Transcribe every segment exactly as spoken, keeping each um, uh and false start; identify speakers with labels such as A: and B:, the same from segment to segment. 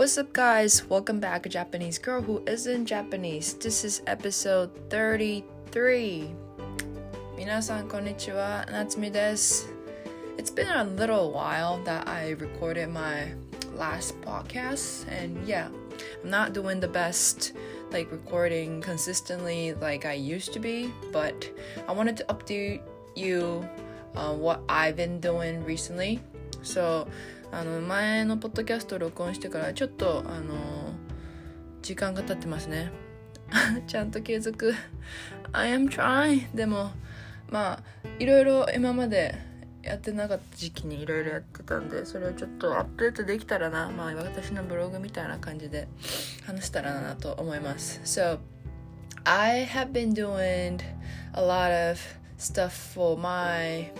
A: What's up, guys? Welcome back, a Japanese girl who isn't Japanese. This is episode thirty-three. 皆さんこんにちは、夏美です。It's been a little while that I recorded my last podcast, and yeah, I'm not doing the best like recording consistently like I used to be, but I wanted to update you on what I've been doing recently. So, あの前のポッドキャストを録音してからちょっとあの時間が経ってますね。ちゃんと継続 I am trying でもまあいろいろ今までやってなかった時期にいろいろやってたんで、それをちょっとアップデートできたらな、まあ私のブログみたいな感じで話したらなと思います。 So I have been doing a lot of stuff for my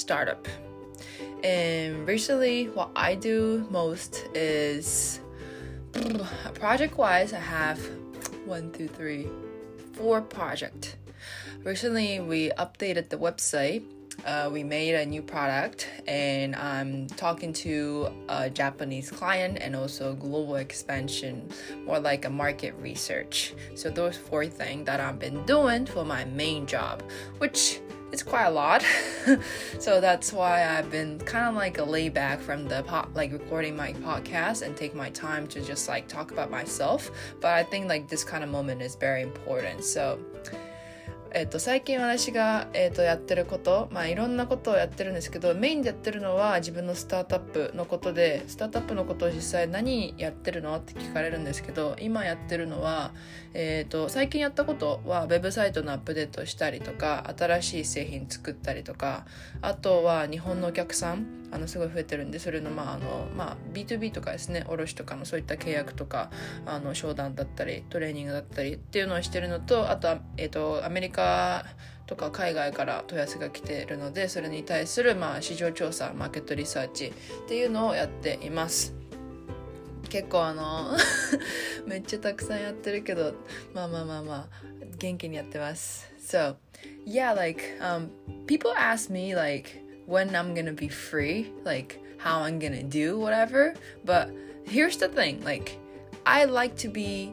A: startup.And recently, what I do most is project-wise, I have one, two, three, four projects. Recently, we updated the website. Uh, we made a new product, and I'm talking to a Japanese client and also global expansion, more like a market research. So those four things that I've been doing for my main job, which...It's quite a lot. So that's why I've been kind of like a layback from the po- like recording my podcast and take my time to just like talk about myself. But I think like this kind of moment is very important. So えっと、最近私が、えっと、やってること、まあいろんなことをやってるんですけど、メインでやってるのは自分のスタートアップのことで、スタートアップのことを実際何やってるのって聞かれるんですけど、今やってるのは、えっと、最近やったことはウェブサイトのアップデートしたりとか、新しい製品作ったりとか、あとは日本のお客さん、あのすごい増えてるんで、それのまああのまあ ビーツービー とかですね、卸とかのそういった契約とか、あの商談だったりトレーニングだったりっていうのをしてるのと、あとはえっとアメリカとか海外から問い合わせが来ているので、それに対するまあ市場調査、マーケットリサーチっていうのをやっています。結構あのめっちゃたくさんやってるけど、まあまあまあまあ元気にやってます。So yeah, like um people ask me like.when I'm gonna be free, like how I'm gonna do whatever. But here's the thing, like I like to be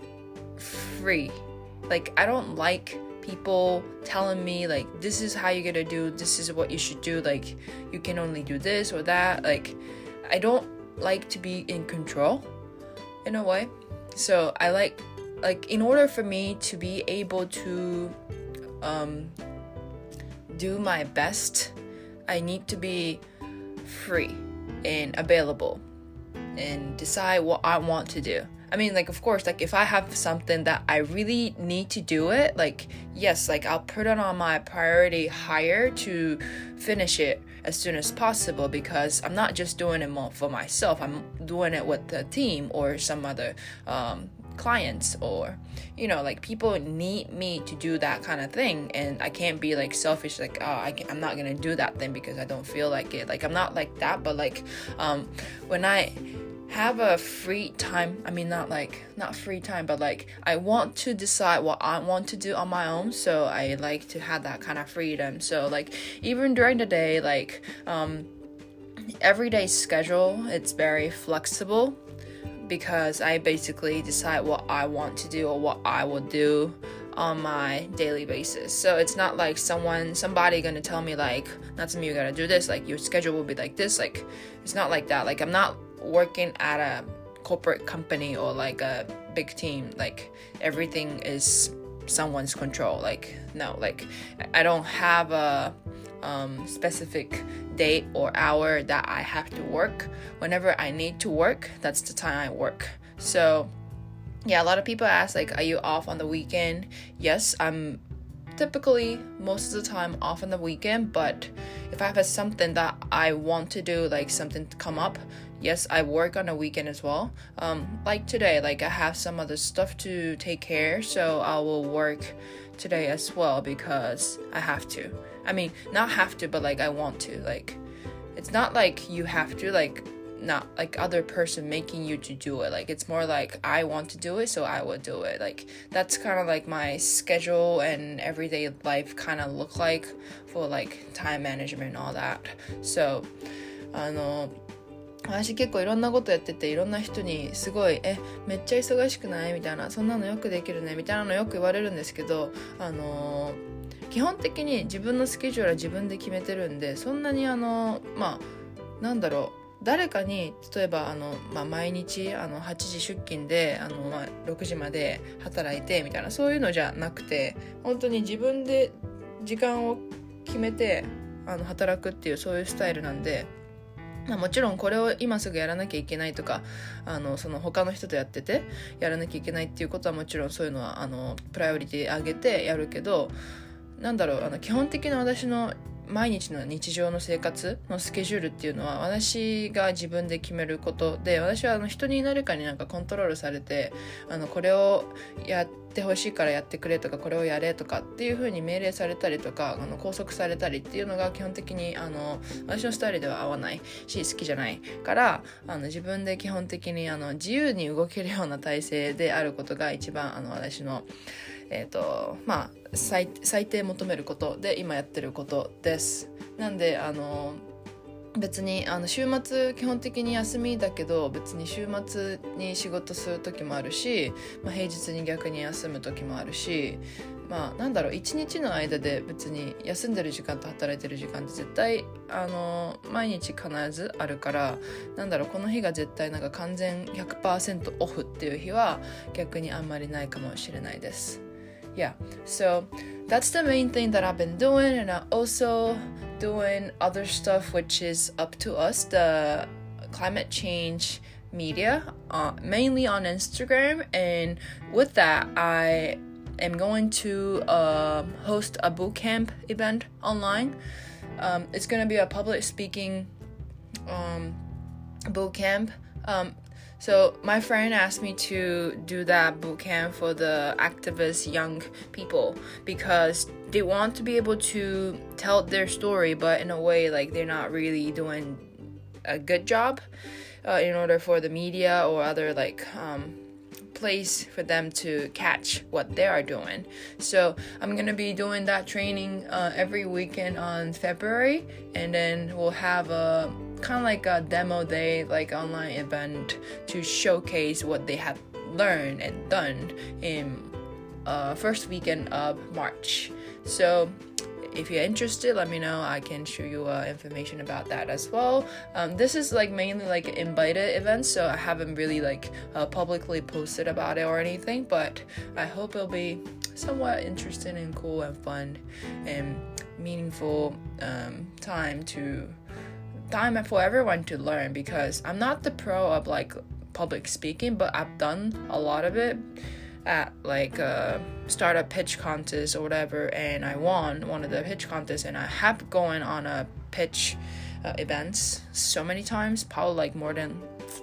A: free. Like I don't like people telling me like this is how you're gonna do, this is what you should do, like you can only do this or that. Like I don't like to be in control in a way. So I like like in order for me to be able to um do my best,I need to be free and available and decide what I want to do. I mean, like, of course, like, if I have something that I really need to do it, like, yes, like, I'll put it on my priority higher to finish it as soon as possible because I'm not just doing it for myself. I'm doing it with the team or some other um,clients or you know like people need me to do that kind of thing, and I can't be like selfish like oh I can, I'm not gonna do that thing because I don't feel like it. Like I'm not like that, but like um when I have a free time, I mean not like not free time, but like I want to decide what I want to do on my own, so I like to have that kind of freedom. So like even during the day, like um everyday schedule, it's very flexible because I basically decide what I want to do or what I will do on my daily basis. So it's not like someone, somebody gonna tell me like, Natsumi, you gotta do this, like your schedule will be like this. Like it's not like that. Like I'm not working at a corporate company or like a big team. Like everything is someone's control. Like no, like I don't have a um, specific date or hour that I have to work. Whenever I need to work, that's the time I work. So yeah, a lot of people ask like, are you off on the weekend? Yes, I'm typically most of the time off on the weekend, but if I have something that I want to do, like something to come up, yes, I work on a weekend as well. Um, like today, like I have some other stuff to take care, so I will work today as well because I have to. I mean, not have to, but like I want to. Like it's not like you have to, like not like other person making you to do it. Like it's more like I want to do it, so I will do it. Like that's kind of like my schedule and everyday life kind of look like for like time management and all that. So あの私結構いろんなことやってて、いろんな人にすごいえめっちゃ忙しくないみたいな、そんなのよくできるねみたいなのよく言われるんですけど、あのー、基本的に自分のスケジュールは自分で決めてるんで、そんなにあのまあなんだろう誰かに例えばあの、まあ、毎日あのはちじ出勤であの、まあ、ろくじまで働いてみたいな、そういうのじゃなくて、本当に自分で時間を決めてあの働くっていう、そういうスタイルなんで、まあ、もちろんこれを今すぐやらなきゃいけないとか、あのその他の人とやっててやらなきゃいけないっていうことはもちろんそういうのはあのプライオリティ上げてやるけど、なんだろうあの基本的な私の毎日の日常の生活のスケジュールっていうのは私が自分で決めることで、私はあの人に誰かになんかコントロールされて、あのこれをやってほしいからやってくれとか、これをやれとかっていう風に命令されたりとか、あの拘束されたりっていうのが基本的にあの私のスタイルでは合わないし好きじゃないから、あの自分で基本的にあの自由に動けるような体制であることが一番あの私のえーとまあ、最, 最低求めることで今やってることです。なんであの別にあの週末基本的に休みだけど、別に週末に仕事する時もあるし、まあ、平日に逆に休む時もあるし、まあなんだろう一日の間で別に休んでる時間と働いてる時間って絶対あの毎日必ずあるから、なんだろうこの日が絶対なんか完全 ひゃくパーセント オフっていう日は逆にあんまりないかもしれないです。Yeah, so that's the main thing that I've been doing, and I'm also doing other stuff which is up to us, the climate change media, uh, mainly on Instagram. And with that, I am going to uh, host a bootcamp event online. Um, it's going to be a public speaking um, bootcamp. Um, So my friend asked me to do that bootcamp for the activist young people because they want to be able to tell their story, but in a way like they're not really doing a good job uh, in order for the media or other like um, place for them to catch what they are doing. So I'm gonna be doing that training uh, every weekend on February, and then we'll have a kind of like a demo day, like online event to showcase what they have learned and done in uh, first weekend of March. So if you're interested, let me know. I can show you uh, information about that as well. Um, this is like mainly like invited events, so I haven't really like uh, publicly posted about it or anything, but I hope it'll be somewhat interesting and cool and fun and meaningful um, time to time for everyone to learn, because I'm not the pro of like public speaking, but I've done a lot of it at like a startup pitch contest or whatever, and I won one of the pitch contests, and I have gone on a pitch uh, events so many times, probably like more than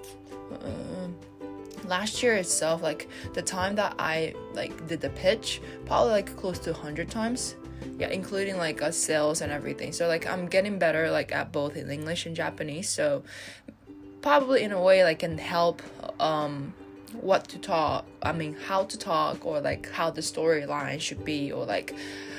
A: uh, last year itself, like the time that I like did the pitch, probably like close to one hundred times. Yeah, including like uh, sales and everything. So like I'm getting better like at both in English and Japanese, so probably in a way like can help um what to talk I mean how to talk, or like how the storyline should be, or like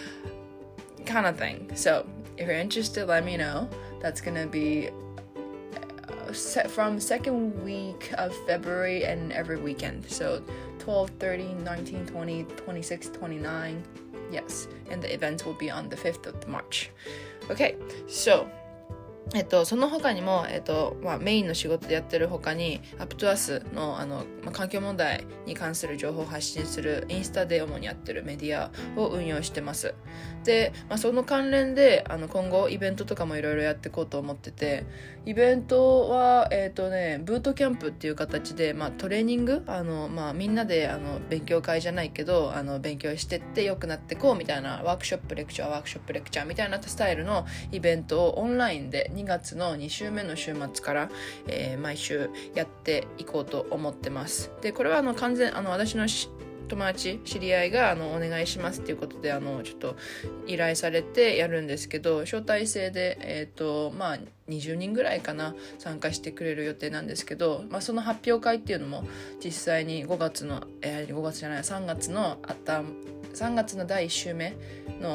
A: kind of thing. So if you're interested, let me know. That's gonna be uh, set from second week of February and every weekend, so twelve, thirteen, nineteen, twenty, twenty-six, twenty-nine. Yes, and the event will be on the fifth of March. Okay, soえっと、その他にも、えっとまあ、メインの仕事でやってる他に UpToUs の、あの、まあ、環境問題に関する情報を発信するインスタで主にやってるメディアを運用してます。で、まあ、その関連であの今後イベントとかもいろいろやっていこうと思ってて、イベントは、えっとね、ブートキャンプっていう形で、まあ、トレーニングあの、まあ、みんなであの勉強会じゃないけどあの勉強してって良くなってこうみたいなワークショップレクチャーワークショップレクチャーみたいなスタイルのイベントをオンラインでにがつのに週目の週末から、えー、毎週やっていこうと思ってます。で、これはあの完全あの私の友達知り合いがあのお願いしますっていうことであのちょっと依頼されてやるんですけど、招待制でえっとまあにじゅうにんぐらいかな参加してくれる予定なんですけど、まあ、その発表会っていうのも実際にごがつの、えー、ごがつじゃないさんがつのあったさんがつのだいいち週目の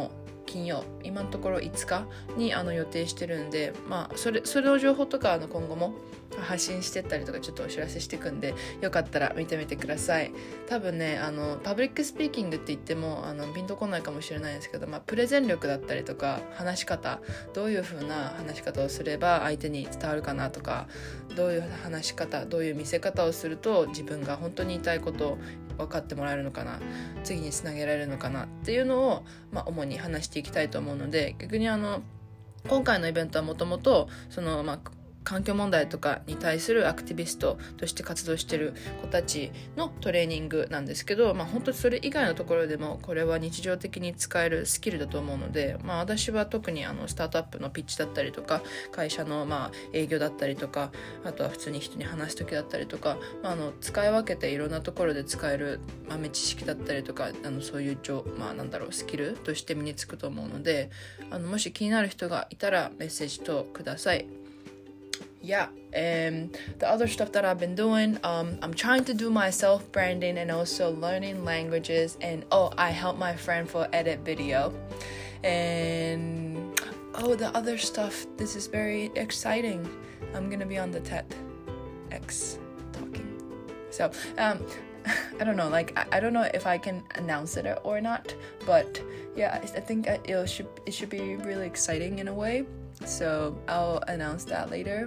A: 金曜、今のところいつかにあの予定してるんで、まあそれそれの情報とかあの今後も発信してったりとかちょっとお知らせしていくんで、よかったら見てみてください。多分ね、あのパブリックスピーキングって言ってもあのピンとこないかもしれないですけど、まあ、プレゼン力だったりとか話し方、どういう風な話し方をすれば相手に伝わるかなとか、どういう話し方、どういう見せ方をすると自分が本当に言いたいことを分かってもらえるのかな、次につなげられるのかなっていうのを、まあ、主に話していきたいと思うので、逆にあの今回のイベントはもともとその、まあ環境問題とかに対するアクティビストとして活動している子たちのトレーニングなんですけど、まあ、本当にそれ以外のところでもこれは日常的に使えるスキルだと思うので、まあ、私は特にあのスタートアップのピッチだったりとか、会社のまあ営業だったりとか、あとは普通に人に話す時だったりとか、まあ、あの使い分けていろんなところで使える豆知識だったりとか、あのそういう、まあ、なんだろうスキルとして身につくと思うので、あのもし気になる人がいたらメッセージとください。Yeah, and the other stuff that I've been doing, um, I'm trying to do my self-branding and also learning languages. And oh, I help my friend for edit video. And oh, the other stuff, this is very exciting. I'm gonna be on the TEDx talking. So, um, I don't know, like, I, I don't know if I can announce it or not, but yeah, I think it should, it should be really exciting in a way. So I'll announce that later.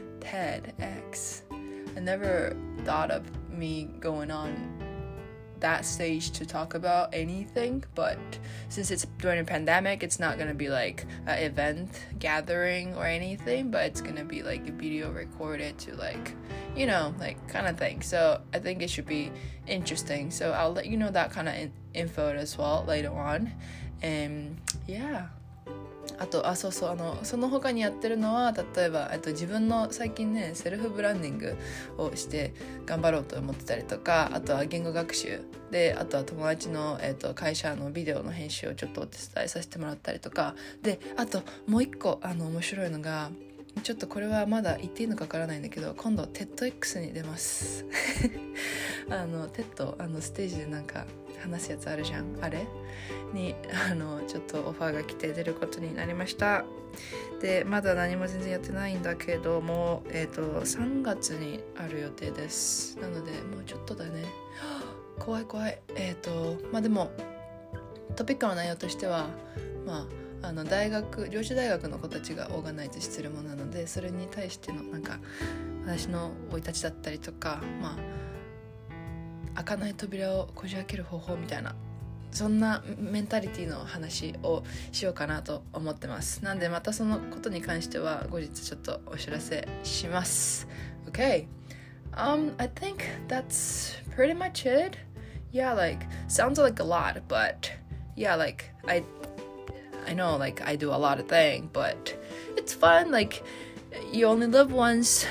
A: TEDx. I never thought of me going on that stage to talk about anything, but since it's during a pandemic, it's not gonna be like an event gathering or anything, but it's gonna be like a video recorded to like, you know, like kind of thing. So I think it should be interesting. So I'll let you know that kind of in- info as well later on. And yeah.あとあそうそうあのその他にやってるのは、例えばと自分の最近ねセルフブランディングをして頑張ろうと思ってたりとか、あとは言語学習で、あとは友達の、えー、と会社のビデオの編集をちょっとお手伝いさせてもらったりとかで、あともう一個あの面白いのが、ちょっとこれはまだ言っていいのかわからないんだけど、今度 テッドエックス に出ますあの テッド あのステージでなんか話すやつあるじゃん、あれにあのちょっとオファーが来て出ることになりました。でまだ何も全然やってないんだけども、えっとさんがつにある予定です。なのでもうちょっとだね。怖い怖い。えっとまあでもトピックの内容としては、まああの大学上智大学の子たちがオーガナイズしてるものなので、それに対してのなんか私の生い立ちだったりとか、まあ開かない扉をこじ開ける方法みたいな、そんなメンタリティの話をしようかなと思ってます。なんでまたそのことに関しては後日ちょっとお知らせします。 Okay, um, I think that's pretty much it. Yeah, like sounds like a lot, but yeah, like I I know like I do a lot of things, but it's fun. Like you only live once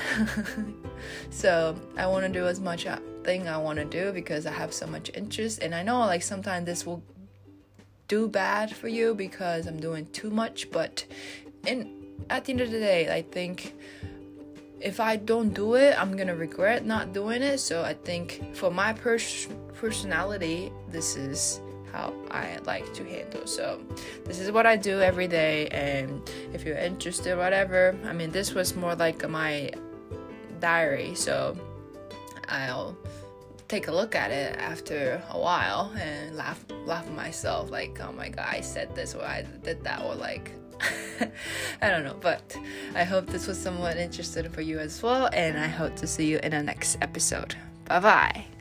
A: so I want to do as much thing I want to do because I have so much interest, and I know like sometimes this will do bad for you because I'm doing too much, but in at the end of the day I think if I don't do it I'm gonna regret not doing it. So I think for my pers- personality this is how I like to handle. So this is what I do every day, and if you're interested, whatever, I mean this was more like my diary, so I'll take a look at it after a while and laugh laugh at myself like, oh my god, I said this or I did that, or like I don't know. But I hope this was somewhat interesting for you as well, and I hope to see you in the next episode. Bye bye.